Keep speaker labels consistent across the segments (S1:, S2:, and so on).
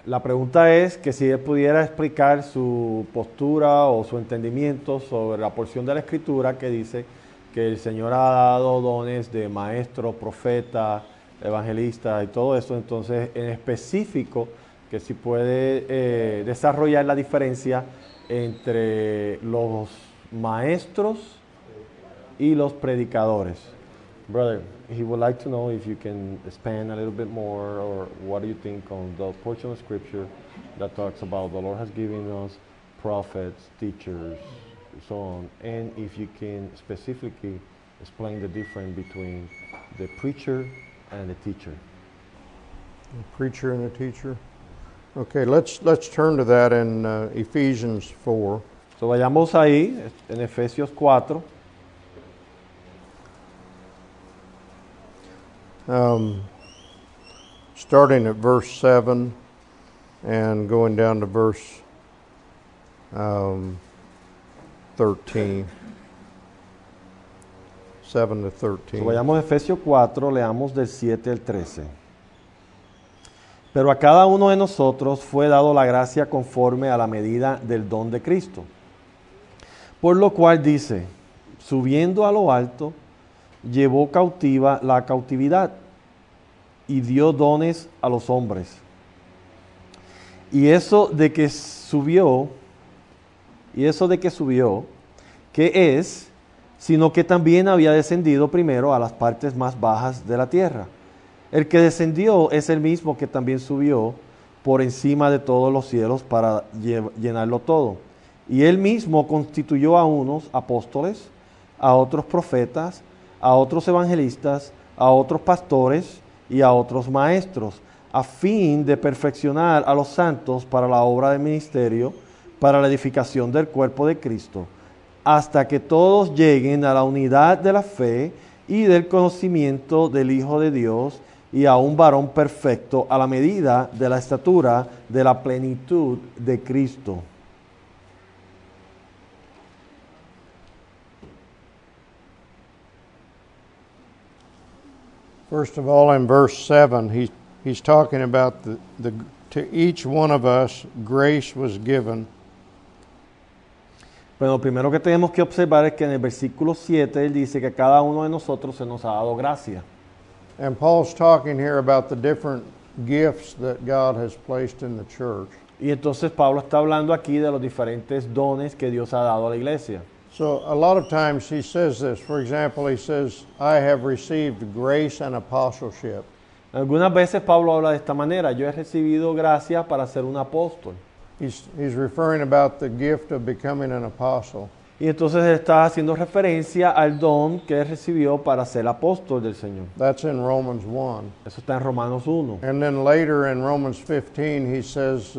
S1: La pregunta es que si él pudiera explicar su postura o su entendimiento sobre la porción de la Escritura que dice que el Señor ha dado dones de maestro, profeta, evangelista y todo eso. Entonces, en específico, que si puede desarrollar la diferencia entre los maestros y los predicadores. Brother, he would like to know if you can expand a little bit more, or what do you think on the portion of scripture that talks about the Lord has given us prophets, teachers, so on, and if you can specifically explain the difference between the preacher and the teacher.
S2: The preacher and the teacher. Okay, let's turn to that in Ephesians 4.
S1: So vayamos ahí en Efesios 4.
S2: Starting at verse 7 and going down to verse 13. 7 to 13.
S1: So vayamos a Efesios 4, leamos del 7 al 13. Pero a cada uno de nosotros fue dado la gracia conforme a la medida del don de Cristo. Por lo cual dice, subiendo a lo alto, llevó cautiva la cautividad y dio dones a los hombres. Y eso de que subió, ¿qué es? Sino que también había descendido primero a las partes más bajas de la tierra. El que descendió es el mismo que también subió por encima de todos los cielos para llenarlo todo. Y él mismo constituyó a unos apóstoles, a otros profetas, a otros evangelistas, a otros pastores y a otros maestros, a fin de perfeccionar a los santos para la obra del ministerio, para la edificación del cuerpo de Cristo, hasta que todos lleguen a la unidad de la fe y del conocimiento del Hijo de Dios y a un varón perfecto a la medida de la estatura de la plenitud de Cristo.
S2: First of all, in verse 7, he's talking about to each one of us grace was given.
S1: Pero lo primero que tenemos que observar es que en el versículo 7 él dice que a cada uno de nosotros se nos ha dado gracia.
S2: And Paul's talking here about the different gifts that God has placed in the church.
S1: Y entonces Pablo está hablando aquí de los diferentes dones que Dios ha dado a la iglesia.
S2: So a lot of times he says this. For example, he says, I have received grace and apostleship.
S1: Algunas veces Pablo habla de esta manera: yo he recibido gracia para ser un apóstol.
S2: He's referring about the gift of becoming an apostle.
S1: Y entonces él está haciendo referencia al don que él recibió para ser apóstol del Señor.
S2: That's in Romans 1.
S1: Eso está en Romanos 1.
S2: And then later in Romans 15 he says,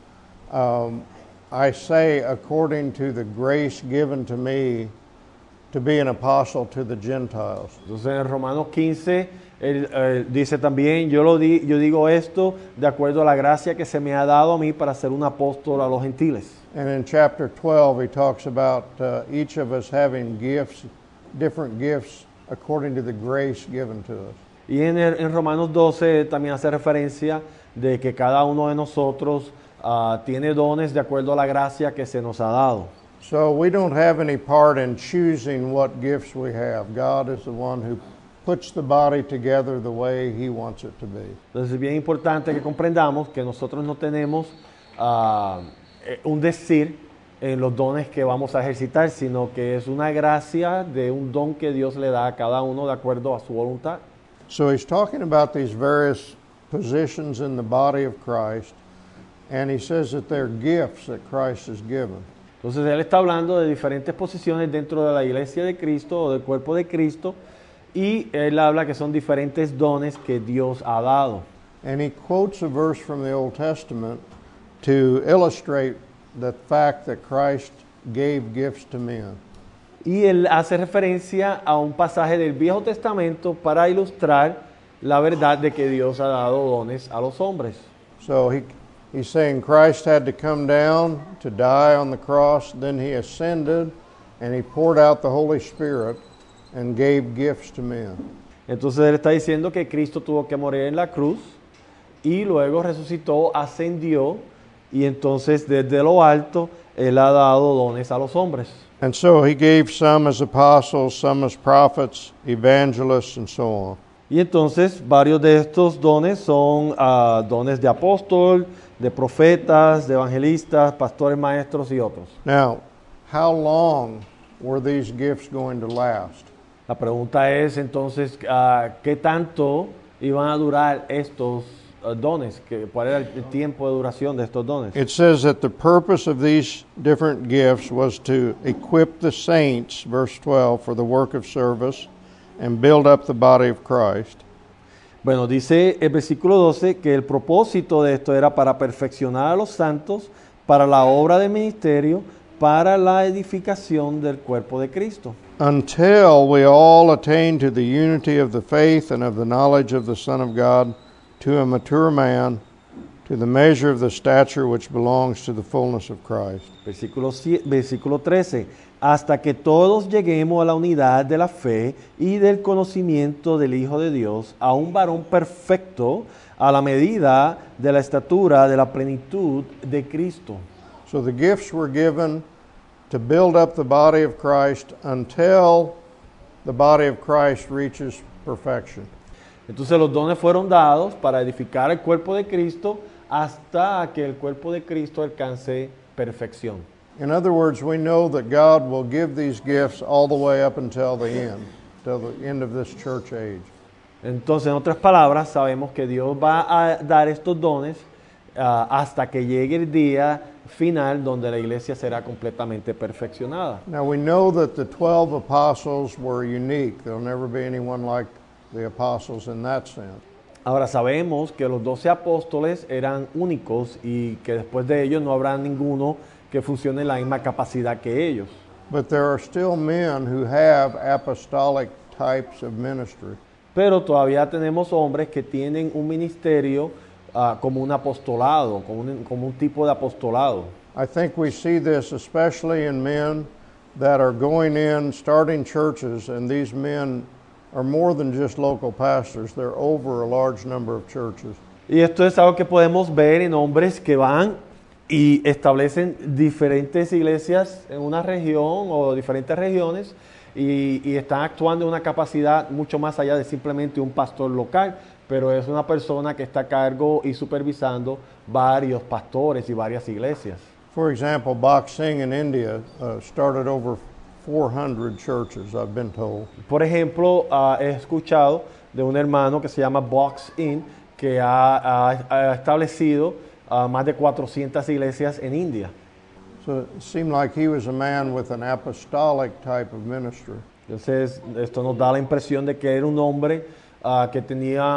S2: I say according to the grace given to me to be an apostle to the Gentiles.
S1: Entonces en Romanos 15 él dice también, yo digo esto de acuerdo a la gracia que se me ha dado a mí para ser un apóstol a los gentiles.
S2: And in chapter 12 he talks about each of us having gifts, different gifts according to the grace given to us.
S1: Y en Romanos 12 también hace referencia de que cada uno de nosotros tiene dones de acuerdo a la gracia que se nos ha dado.
S2: So we don't have any part in choosing what gifts we have. God is the one who puts the body together the way he wants it to be.
S1: Entonces es bien importante que comprendamos que nosotros no tenemos un decir en los dones que vamos a ejercitar, sino que es una gracia de un don que Dios le da a cada uno de acuerdo a su voluntad.
S2: So he's talking about these various positions in the body of Christ, and he says that they're gifts that Christ has given.
S1: Entonces él está hablando de diferentes posiciones dentro de la iglesia de Cristo o del cuerpo de Cristo, y él habla que son diferentes dones que Dios ha dado.
S2: And he quotes a verse from the Old Testament to illustrate the fact that Christ gave gifts to men.
S1: Y él hace referencia a un pasaje del Viejo Testamento para ilustrar la verdad de que Dios ha dado dones a los hombres.
S2: So he's saying Christ had to come down to die on the cross, then he ascended and he poured out the Holy Spirit and gave gifts to men.
S1: Entonces él está diciendo que Cristo tuvo que morir en la cruz, y luego resucitó, ascendió, y entonces desde lo alto Él ha dado dones a los hombres.
S2: And so he gave some as apostles, some as prophets, evangelists, and so on.
S1: Y entonces varios de estos dones son dones de apóstol, de profetas, de evangelistas, pastores, maestros y otros.
S2: Now, how long were these gifts going to last?
S1: La pregunta es entonces, ¿qué tanto iban a durar estos dones? ¿Cuál era el tiempo de duración de estos dones?
S2: It says that the purpose of these different gifts was to equip the saints, verse 12, for the work of service and build up the body of Christ.
S1: Bueno, dice el versículo 12 que el propósito de esto era para perfeccionar a los santos, para la obra del ministerio, para la edificación del cuerpo de Cristo.
S2: Until we all attain to the unity of the faith and of the knowledge of the Son of God, to a mature man, to the measure of the stature which belongs to the fullness of Christ.
S1: Versículo 13, hasta que todos lleguemos a la unidad de la fe y del conocimiento del Hijo de Dios, a un varón perfecto, a la medida de la estatura de la plenitud de Cristo.
S2: So the gifts were given to build up the body of Christ until the body of Christ reaches perfection.
S1: Entonces los dones fueron dados para edificar el cuerpo de Cristo hasta que el cuerpo de Cristo alcance perfección.
S2: In other words, we know that God will give these gifts all the way up until the end of this church age.
S1: Entonces, en otras palabras, sabemos que Dios va a dar estos dones hasta que llegue el día final donde la iglesia será completamente perfeccionada.
S2: Now we know that the 12 apostles were unique. There'll never be anyone like the apostles in that sense.
S1: Ahora sabemos que los 12 apóstoles eran únicos y que después de ellos no habrá ninguno que funcione en la misma capacidad que ellos.
S2: But there are still men who have apostolic types of ministry.
S1: Pero todavía tenemos hombres que tienen un ministerio como un apostolado, como un tipo de apostolado.
S2: I think we see this especially in men that are going in, starting churches, and these men are more than just local pastors. They're over a large number of churches.
S1: Y esto es algo que podemos ver en hombres que van y establecen diferentes iglesias en una región o diferentes regiones y están actuando en una capacidad mucho más allá de simplemente un pastor local, pero es una persona que está a cargo y supervisando varios pastores y varias iglesias.
S2: For example, Bach Singh in India started over 400 churches, I've been told.
S1: Por ejemplo, he escuchado de un hermano que se llama Box In, que ha establecido más de 400 iglesias en India.
S2: So it seemed like he was a man with an apostolic type of ministry.
S1: Entonces, esto nos da la impresión de que era un hombre que tenía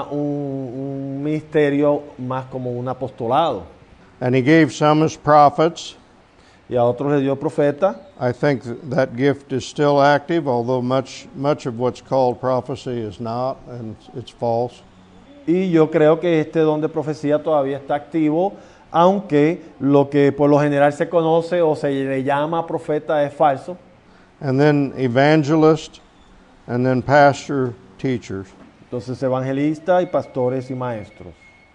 S1: un ministerio más como un apostolado.
S2: And he gave some as prophets.
S1: Y a otros le dio profeta.
S2: I think that gift is still active, although much of what's called prophecy is not, and it's false.
S1: Y yo creo que este don de profecía todavía está activo, aunque lo que por lo general se conoce o se le llama profeta es falso.
S2: And then evangelist, and then pastor, teachers.
S1: Entonces evangelista y pastores y maestros.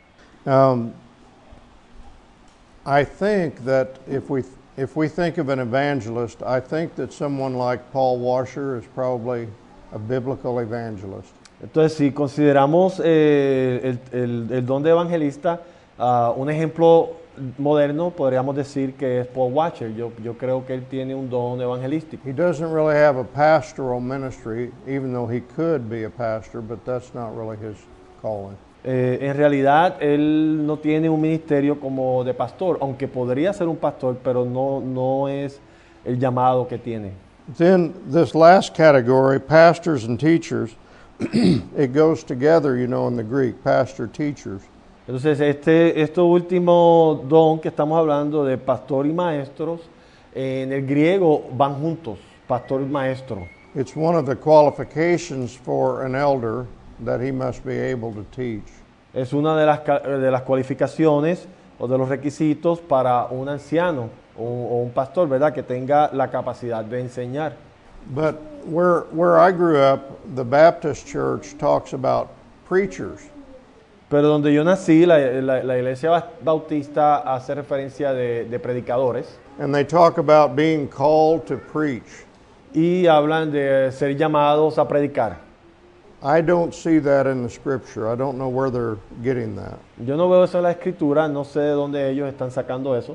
S2: I think that if we think of an evangelist, I think that someone like Paul Washer is probably a biblical evangelist.
S1: Entonces, si consideramos el don de evangelista, un ejemplo moderno, podríamos decir que es Paul Washer. Yo creo que él tiene un don evangelístico.
S2: He doesn't really have a pastoral ministry, even though he could be a pastor, but that's not really his calling.
S1: En realidad, él no tiene un ministerio como de pastor, aunque podría ser un pastor, pero no es el llamado que tiene.
S2: Then this last category, pastors and teachers, it goes together, you know, in the Greek, pastor, teachers.
S1: Entonces, este último don que estamos hablando de pastor y maestros, en el griego van juntos, pastor y maestro.
S2: It's one of the qualifications for an elder that he must be able to teach.
S1: Es una de las cualificaciones o de los requisitos para un anciano o un pastor, ¿verdad? Que tenga la capacidad de enseñar.
S2: But where I grew up, the Baptist church talks about preachers.
S1: Pero donde yo nací, la iglesia bautista hace referencia de predicadores
S2: and they talk about being called to preach.
S1: y hablan de ser llamados a predicar.
S2: I don't see that in the scripture. I don't know where they're getting that.
S1: Yo no veo eso en la escritura, no sé de dónde ellos están sacando eso.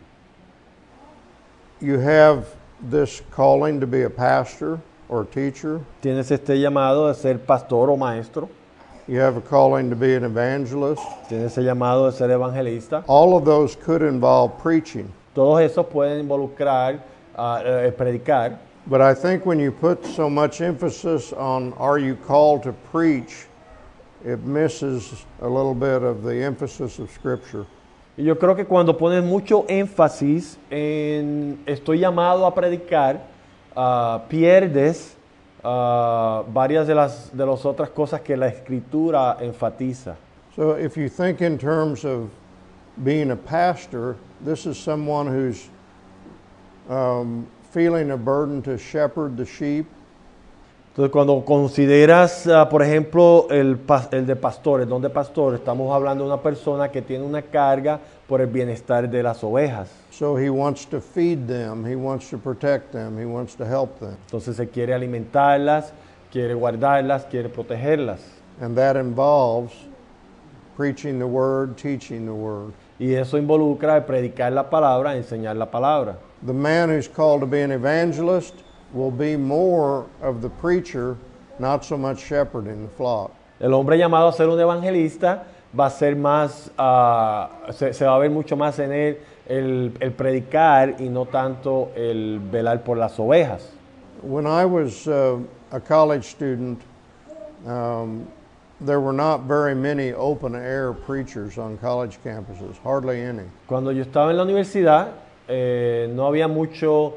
S2: You have this calling to be a pastor or teacher.
S1: Tienes este llamado de ser pastor o maestro.
S2: You have a calling to be an evangelist.
S1: Tienes el llamado de ser evangelista.
S2: All of those could involve preaching.
S1: Todos esos pueden involucrar predicar.
S2: But I think when you put so much emphasis on are you called to preach, it misses a little bit of the emphasis of Scripture.
S1: Y yo creo que cuando pones mucho énfasis en estoy llamado a predicar, pierdes varias de las otras cosas que la escritura enfatiza.
S2: So if you think in terms of being a pastor, this is someone who's feeling a burden to shepherd the sheep.
S1: Entonces, cuando consideras, por ejemplo, el de pastor, el don de pastor, estamos hablando de una persona que tiene una carga por el bienestar de las ovejas.
S2: So he wants to feed them, he wants to protect them, he wants to help them.
S1: Entonces, se quiere alimentarlas, quiere guardarlas, quiere protegerlas.
S2: And that involves preaching the word, teaching the word.
S1: Y eso involucra predicar la palabra, enseñar la palabra.
S2: The man who's called to be an evangelist will be more of the preacher, not so much shepherding the flock.
S1: El hombre llamado a ser un evangelista va a ser más, se va a ver mucho más en él el predicar y no tanto el velar por las ovejas.
S2: When I was a college student, there were not very many open air preachers on college campuses, hardly any.
S1: Cuando yo estaba en la universidad, no había mucho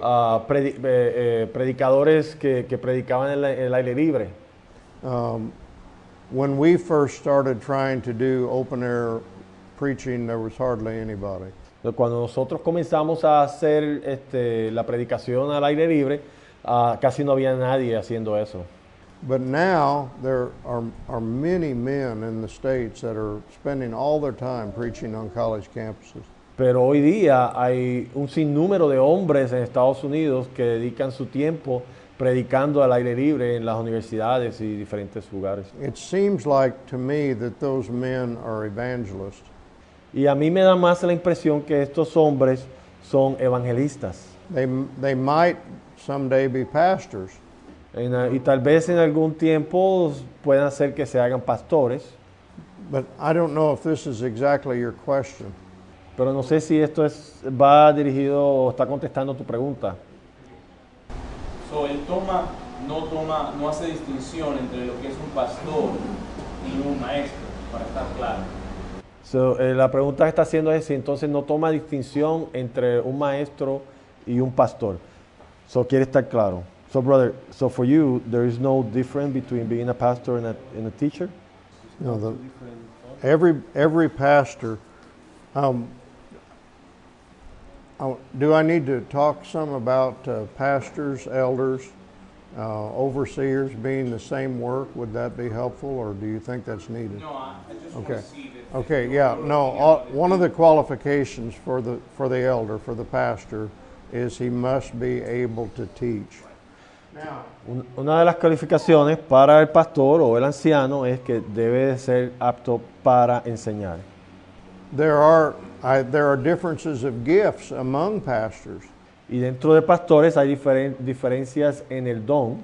S1: predicadores que predicaban en el aire libre.
S2: When we first started trying to do open air preaching, there was hardly anybody.
S1: Cuando nosotros comenzamos a hacer la predicación al aire libre, casi no había nadie haciendo eso.
S2: But now there are many men in the States that are spending all their time preaching on college campuses.
S1: Pero hoy día hay un sinnúmero de hombres en Estados Unidos que dedican su tiempo predicando al aire libre en las universidades y diferentes lugares.
S2: It seems like to me that those men are evangelists.
S1: Y a mí me da más la impresión que estos hombres son evangelistas.
S2: They might someday be pastors.
S1: Y tal vez en algún tiempo puedan ser que se hagan pastores.
S2: But I don't know if this is exactly your question.
S1: Pero no sé si esto va dirigido o está contestando tu pregunta.
S3: So, él no hace distinción entre lo que es un pastor y un maestro, para estar claro.
S1: So, la pregunta que está haciendo es si entonces no toma distinción entre un maestro y un pastor. So, quiere estar claro. So, brother, so for you, there is no difference between being a pastor and a teacher?
S2: No, every pastor. Do I need to talk some about pastors, elders, overseers being the same work? Would that be helpful, or do you think that's needed?
S3: No, I just
S2: Okay.
S3: want to see that.
S2: Okay, yeah, no. One of the qualifications for the elder, for the pastor, is he must be able to teach. Now,
S1: Una de las calificaciones para el pastor o el anciano es que debe de ser apto para enseñar.
S2: there are differences of gifts among pastors.
S1: Y dentro de pastores hay diferencias en el don.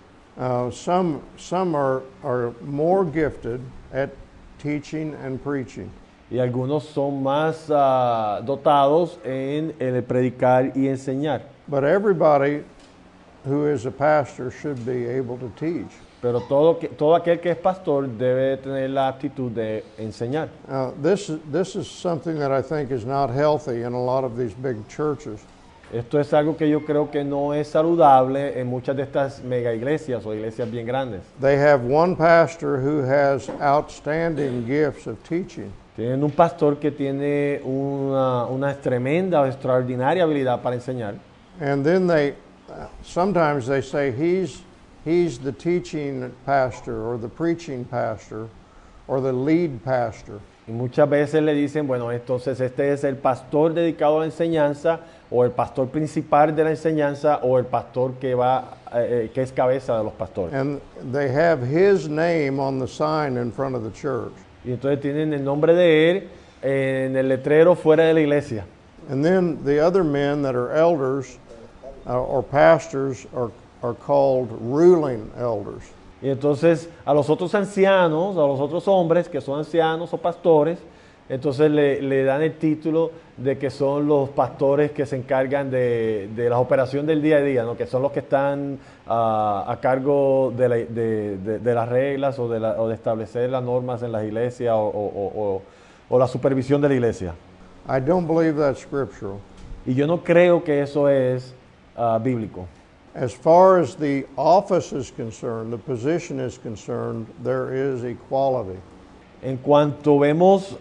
S2: Some are more gifted at teaching and preaching.
S1: Y algunos son más dotados en el predicar y enseñar.
S2: But everybody who is a pastor should be able to teach.
S1: Pero todo aquel que es pastor debe tener la aptitud de enseñar.
S2: This is something that I think is not healthy in a lot of these big churches.
S1: Esto es algo que yo creo que no es saludable en muchas de estas mega iglesias o iglesias bien grandes.
S2: They have one pastor who has outstanding gifts of teaching.
S1: Tienen un pastor que tiene una tremenda o extraordinaria habilidad para enseñar.
S2: And then sometimes they say he's the teaching pastor or the preaching pastor, or the lead pastor.
S1: Y muchas veces le dicen, bueno, entonces este es el pastor dedicado a la enseñanza, o el pastor principal de la enseñanza, o el pastor que que es cabeza de los pastores.
S2: And they have his name on the sign in front of the church.
S1: Y entonces tienen el nombre de él en el letrero fuera de la iglesia.
S2: And then the other men that are elders or pastors are called ruling elders.
S1: Y entonces a los otros ancianos, a los otros hombres que son ancianos o pastores, entonces le dan el título de que son los pastores que se encargan de la operación del día a día, ¿no? Que son los que están a cargo de las reglas o de establecer las normas en las iglesias o la supervisión de la iglesia.
S2: I don't believe that's scriptural.
S1: Y yo no creo que eso es bíblico.
S2: As far as the office is concerned, the position is concerned, there is equality.
S1: En cuanto vemos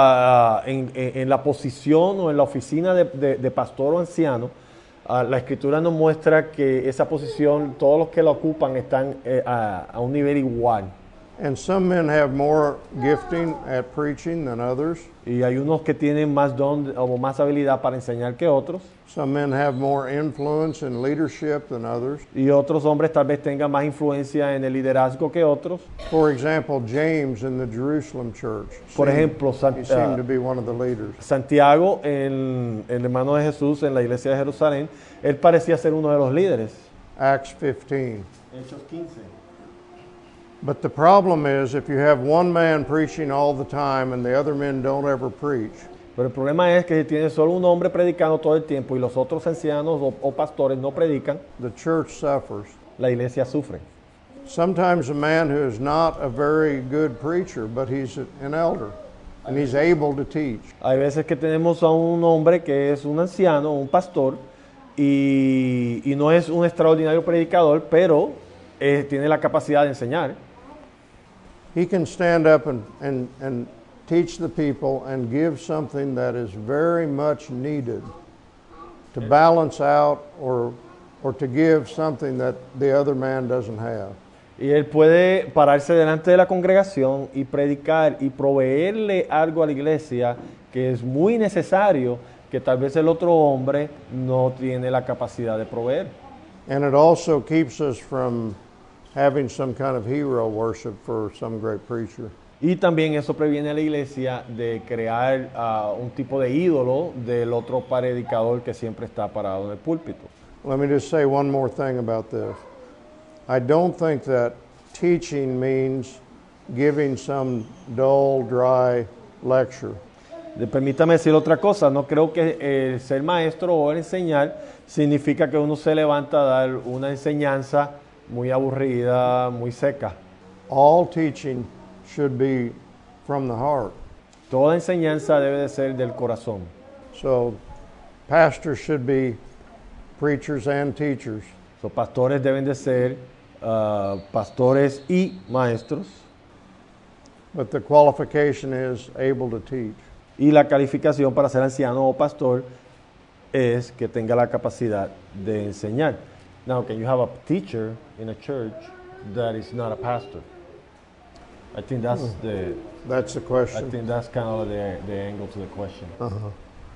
S1: en la posición o en la oficina de pastor o anciano, la Escritura nos muestra que esa posición, todos los que la ocupan están a un nivel igual.
S2: And some men have more gifting at preaching than others.
S1: Y hay unos que tienen más don o más habilidad para enseñar que otros.
S2: Some men have more influence in leadership than others.
S1: Y otros hombres tal vez tengan más influencia en el liderazgo que otros.
S2: For example, James in the Jerusalem church.
S1: Por ejemplo,
S2: He seemed to be one of the leaders.
S1: Santiago, el hermano de Jesús en la iglesia de Jerusalén, él parecía ser uno de los líderes.
S2: Acts 15.
S1: Hechos 15.
S2: But the problem is if you have one man preaching all the time and the other men don't ever preach,
S1: Pero el problema es que si tienes solo un hombre predicando todo el tiempo y los otros ancianos o pastores no predican,
S2: the church suffers.
S1: la iglesia sufre.
S2: Sometimes a man who is not a very good preacher, but he's an elder and he's able to teach.
S1: Hay veces que tenemos a un hombre que es un anciano, un pastor, y no es un extraordinario predicador, pero tiene la capacidad de enseñar.
S2: He can stand up and teach the people and give something that is very much needed to balance out or to give something that the other man doesn't have.
S1: Y él puede pararse delante de la congregación y predicar y proveerle algo a la iglesia que es muy necesario, que tal vez el otro hombre no tiene la capacidad de proveer.
S2: And it also keeps us from having some kind of hero worship for some great preacher.
S1: Y también eso previene a la iglesia de crear un tipo de ídolo del otro predicador que siempre está parado en el púlpito.
S2: Let me just say one more thing about this. I don't think that teaching means giving some dull, dry lecture.
S1: Permítame decir otra cosa, no creo que ser maestro o enseñar significa que uno se levanta a dar una enseñanza muy aburrida, muy seca.
S2: All teaching should be from the heart.
S1: Toda enseñanza debe de ser del corazón.
S2: So pastors should be preachers and teachers.
S1: Los pastores deben de ser pastores y maestros.
S2: But the qualification is able to teach.
S1: Y la calificación para ser anciano o pastor es que tenga la capacidad de enseñar. Now, can you have a teacher in a church that is not a pastor? I think that's
S2: That's the question.
S1: I think that's kind of the angle to the question.
S2: Uh-huh.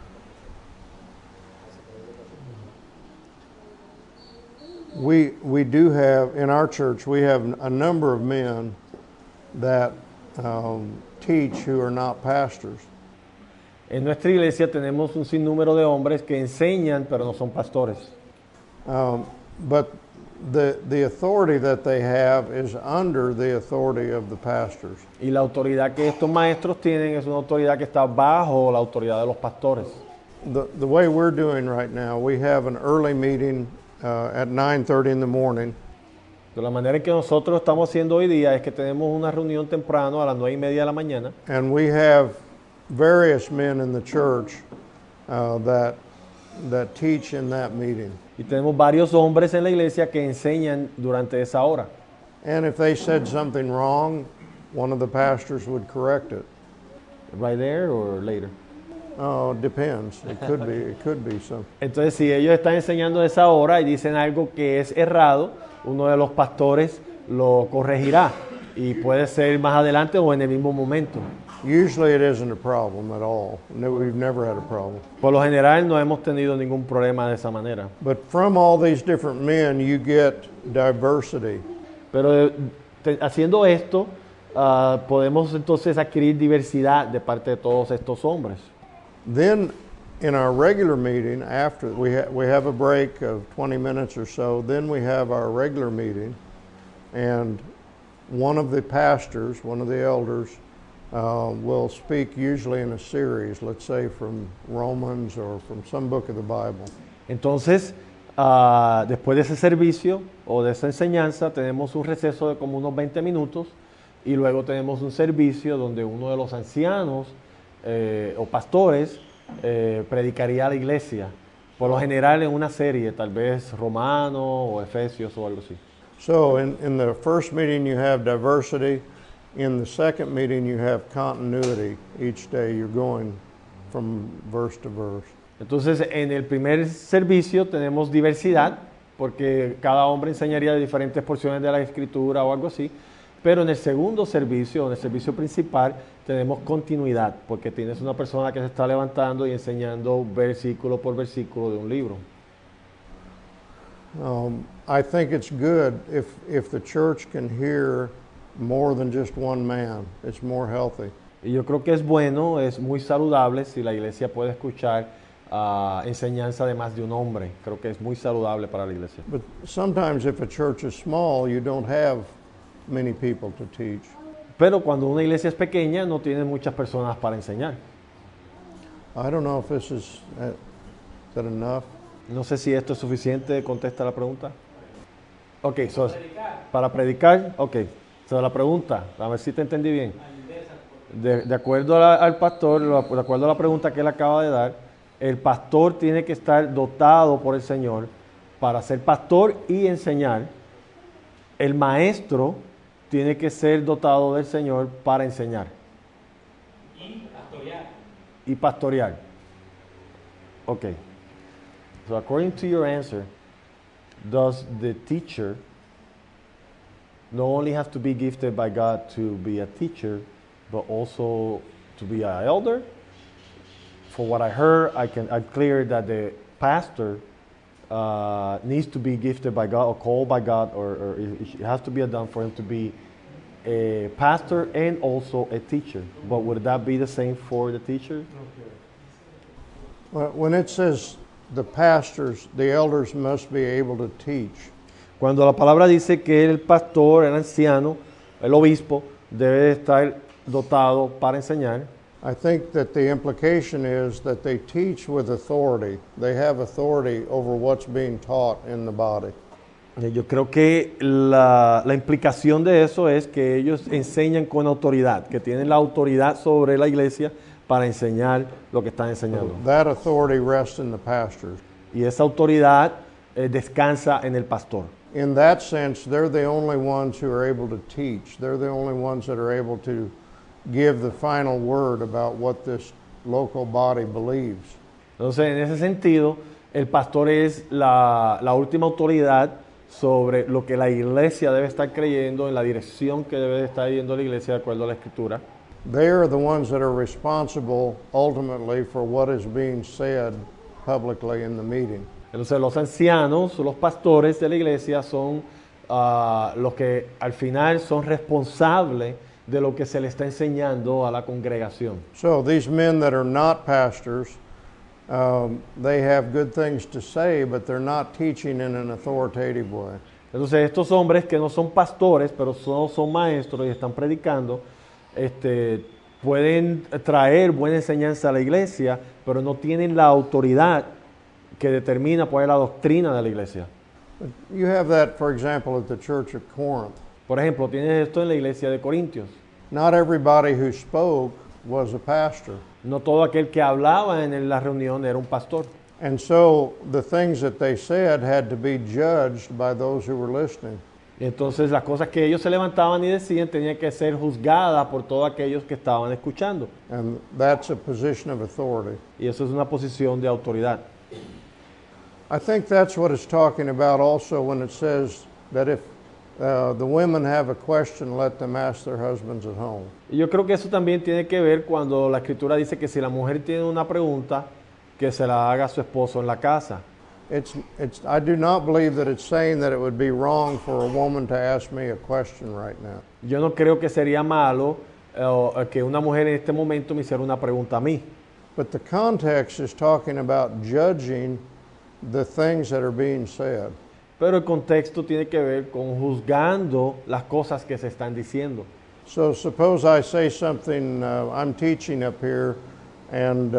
S2: We do have, in our church, we have a number of men that teach who are not pastors.
S1: En nuestra iglesia tenemos un sinnúmero de hombres que enseñan, pero no son pastores.
S2: But the authority that they have is under the authority of the pastors.
S1: Y la autoridad que estos maestros tienen es una autoridad que está bajo la autoridad de los pastores.
S2: The way we're doing right now, we have an early meeting at 9:30 in the morning.
S1: De la manera en que nosotros estamos haciendo hoy día es que tenemos una reunión temprano a las 9:30 de la mañana.
S2: And we have various men in the church that teach in that meeting.
S1: Y tenemos varios hombres en la iglesia que enseñan durante esa hora.
S2: And if they said something wrong, one of the pastors would correct it.
S1: Right there or later.
S2: Oh, it depends. It could be some.
S1: Entonces, si ellos están enseñando a esa hora y dicen algo que es errado, uno de los pastores lo corregirá. y puede ser más adelante o en el mismo momento.
S2: Usually it isn't a problem at all. No, we've never had a problem.
S1: Por lo general no hemos tenido ningún problema de esa manera.
S2: But from all these different men, you get diversity.
S1: Pero haciendo esto, podemos entonces adquirir diversidad de parte de todos estos hombres.
S2: Then, in our regular meeting, after we have a break of 20 minutes or so, then we have our regular meeting, and one of the pastors, one of the elders, will speak usually in a series, let's say from Romans or from some book of the Bible.
S1: Entonces, después de ese servicio o de esa enseñanza, tenemos un receso de como unos 20 minutos y luego tenemos un servicio donde uno de los ancianos o pastores predicaría a la iglesia, por lo general en una serie, tal vez Romano o Efesios o algo así.
S2: So in the first meeting you have diversity. In the second meeting you have continuity. Each day you're going from verse to verse.
S1: Entonces, en el primer servicio tenemos diversidad, porque cada hombre enseñaría de diferentes porciones de la Escritura o algo así, pero en el segundo servicio, en el servicio principal, tenemos continuidad, porque tienes una persona que se está levantando y enseñando versículo por versículo de un libro.
S2: I think it's good if the church can hear more than just one man. It's more healthy.
S1: Y yo creo que es bueno, es muy saludable si la iglesia puede escuchar enseñanza de más de un hombre. Creo que es muy saludable para la iglesia.
S2: But sometimes if a church is small, you don't have many people to teach.
S1: Pero cuando una iglesia es pequeña, no tiene muchas personas para enseñar.
S2: I don't know if this is that enough?
S1: No sé si esto es suficiente, contesta la pregunta. Ok, para predicar, ok. La pregunta, a ver si te entendí bien. De acuerdo al pastor, de acuerdo a la pregunta que él acaba de dar, el pastor tiene que estar dotado por el Señor para ser pastor y enseñar. El maestro tiene que ser dotado del Señor para enseñar. Y pastorear. Ok. So according to your answer, does the teacher not only have to be gifted by God to be a teacher, but also to be an elder? For what I heard, I'm clear that the pastor needs to be gifted by God or called by God, or it has to be done for him to be a pastor and also a teacher. But would that be the same for the teacher?
S2: Well, when it says the pastors, the elders must be able to teach.
S1: Cuando la palabra dice que el pastor, el anciano, el obispo, debe estar dotado para enseñar,
S2: I think that the implication is that they teach with authority. They have authority over what's being taught in the body.
S1: Yo creo que la implicación de eso es que ellos enseñan con autoridad, que tienen la autoridad sobre la iglesia para enseñar lo que están enseñando.
S2: That authority rests in the pastors.
S1: Y esa autoridad descansa en el pastor.
S2: In that sense, they're the only ones who are able to teach. They're the only ones that are able to give the final word about what this local body believes.
S1: Entonces, en ese sentido, el pastor es la última autoridad sobre lo que la iglesia debe estar creyendo, en la dirección que debe estar yendo la iglesia de acuerdo a la Escritura.
S2: They are the ones that are responsible ultimately for what is being said publicly in the meeting.
S1: Entonces los ancianos, los pastores de la iglesia son los que al final son responsables de lo que se le está enseñando a la congregación.
S2: So these men that are not pastors, they have good things to say, but they're not teaching in an authoritative way.
S1: Entonces estos hombres que no son pastores, pero son maestros y están predicando, pueden traer buena enseñanza a la iglesia, pero no tienen la autoridad que determina cuál es la doctrina de la iglesia.
S2: You have that, for example, at the church of Corinth.
S1: Por ejemplo, tienes esto en la iglesia de Corintios.
S2: Not everybody who spoke was a pastor.
S1: No todo aquel que hablaba en la reunión era un pastor.
S2: And so the things that they said had to be judged by those who were listening.
S1: Y entonces las cosas que ellos se levantaban y decían tenían que ser juzgadas por todos aquellos que estaban escuchando.
S2: And that's a position of authority.
S1: Y eso es una posición de autoridad.
S2: I think that's what it's talking about also when it says that the women have a question, let them ask their husbands at home.
S1: Y yo creo que eso también tiene que ver cuando la Escritura dice que si la mujer tiene una pregunta, que se la haga a su esposo en la casa.
S2: I do not believe that it's saying that it would be wrong for a woman to ask me a question right now.
S1: Yo no creo que sería malo que una mujer en este momento me hiciera una pregunta a mí.
S2: But the context is talking about judging the things that are being said.
S1: Pero el contexto tiene que ver con juzgando las cosas que se están diciendo.
S2: So suppose I say something, I'm teaching up here, and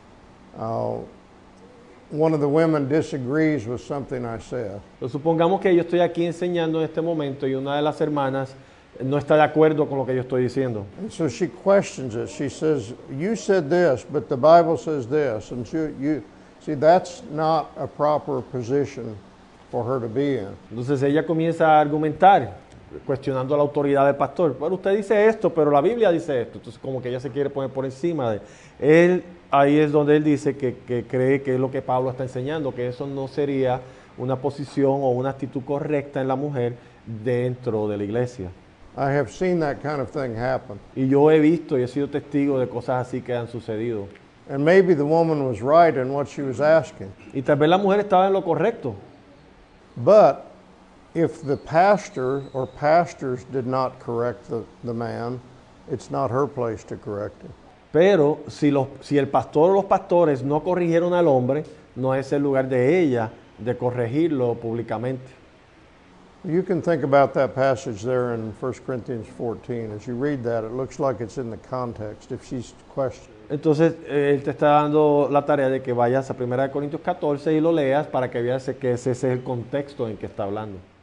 S2: one of the women disagrees with something I said.
S1: Pero supongamos que yo estoy aquí enseñando en este momento y una de las hermanas no está de acuerdo con lo que yo estoy diciendo.
S2: And so she questions it. She says, you said this, but the Bible says this. And see, that's not a proper position for her to be in.
S1: Entonces ella comienza a argumentar, cuestionando la autoridad del pastor. Bueno, usted dice esto, pero la Biblia dice esto. Entonces como que ella se quiere poner por encima de él. Ahí es donde él dice que cree que es lo que Pablo está enseñando, que eso no sería una posición o una actitud correcta en la mujer dentro de la iglesia.
S2: I have seen that kind of thing happen.
S1: Y yo he visto y he sido testigo de cosas así que han sucedido.
S2: And maybe the woman was right in what she was asking.
S1: Y tal vez la mujer estaba en lo correcto.
S2: But if the pastor or pastors did not correct the man, it's not her place to correct him.
S1: Pero si el pastor o los pastores no corrigieron al hombre, no es el lugar de ella de corregirlo públicamente.
S2: You can think about that passage there in 1 Corinthians 14. As you read that, it looks like it's in the context. If she's questioning.
S1: Entonces, él te está dando la tarea de que vayas a 1 Corintios 14 y lo leas para que veas que ese es el contexto en que está hablando.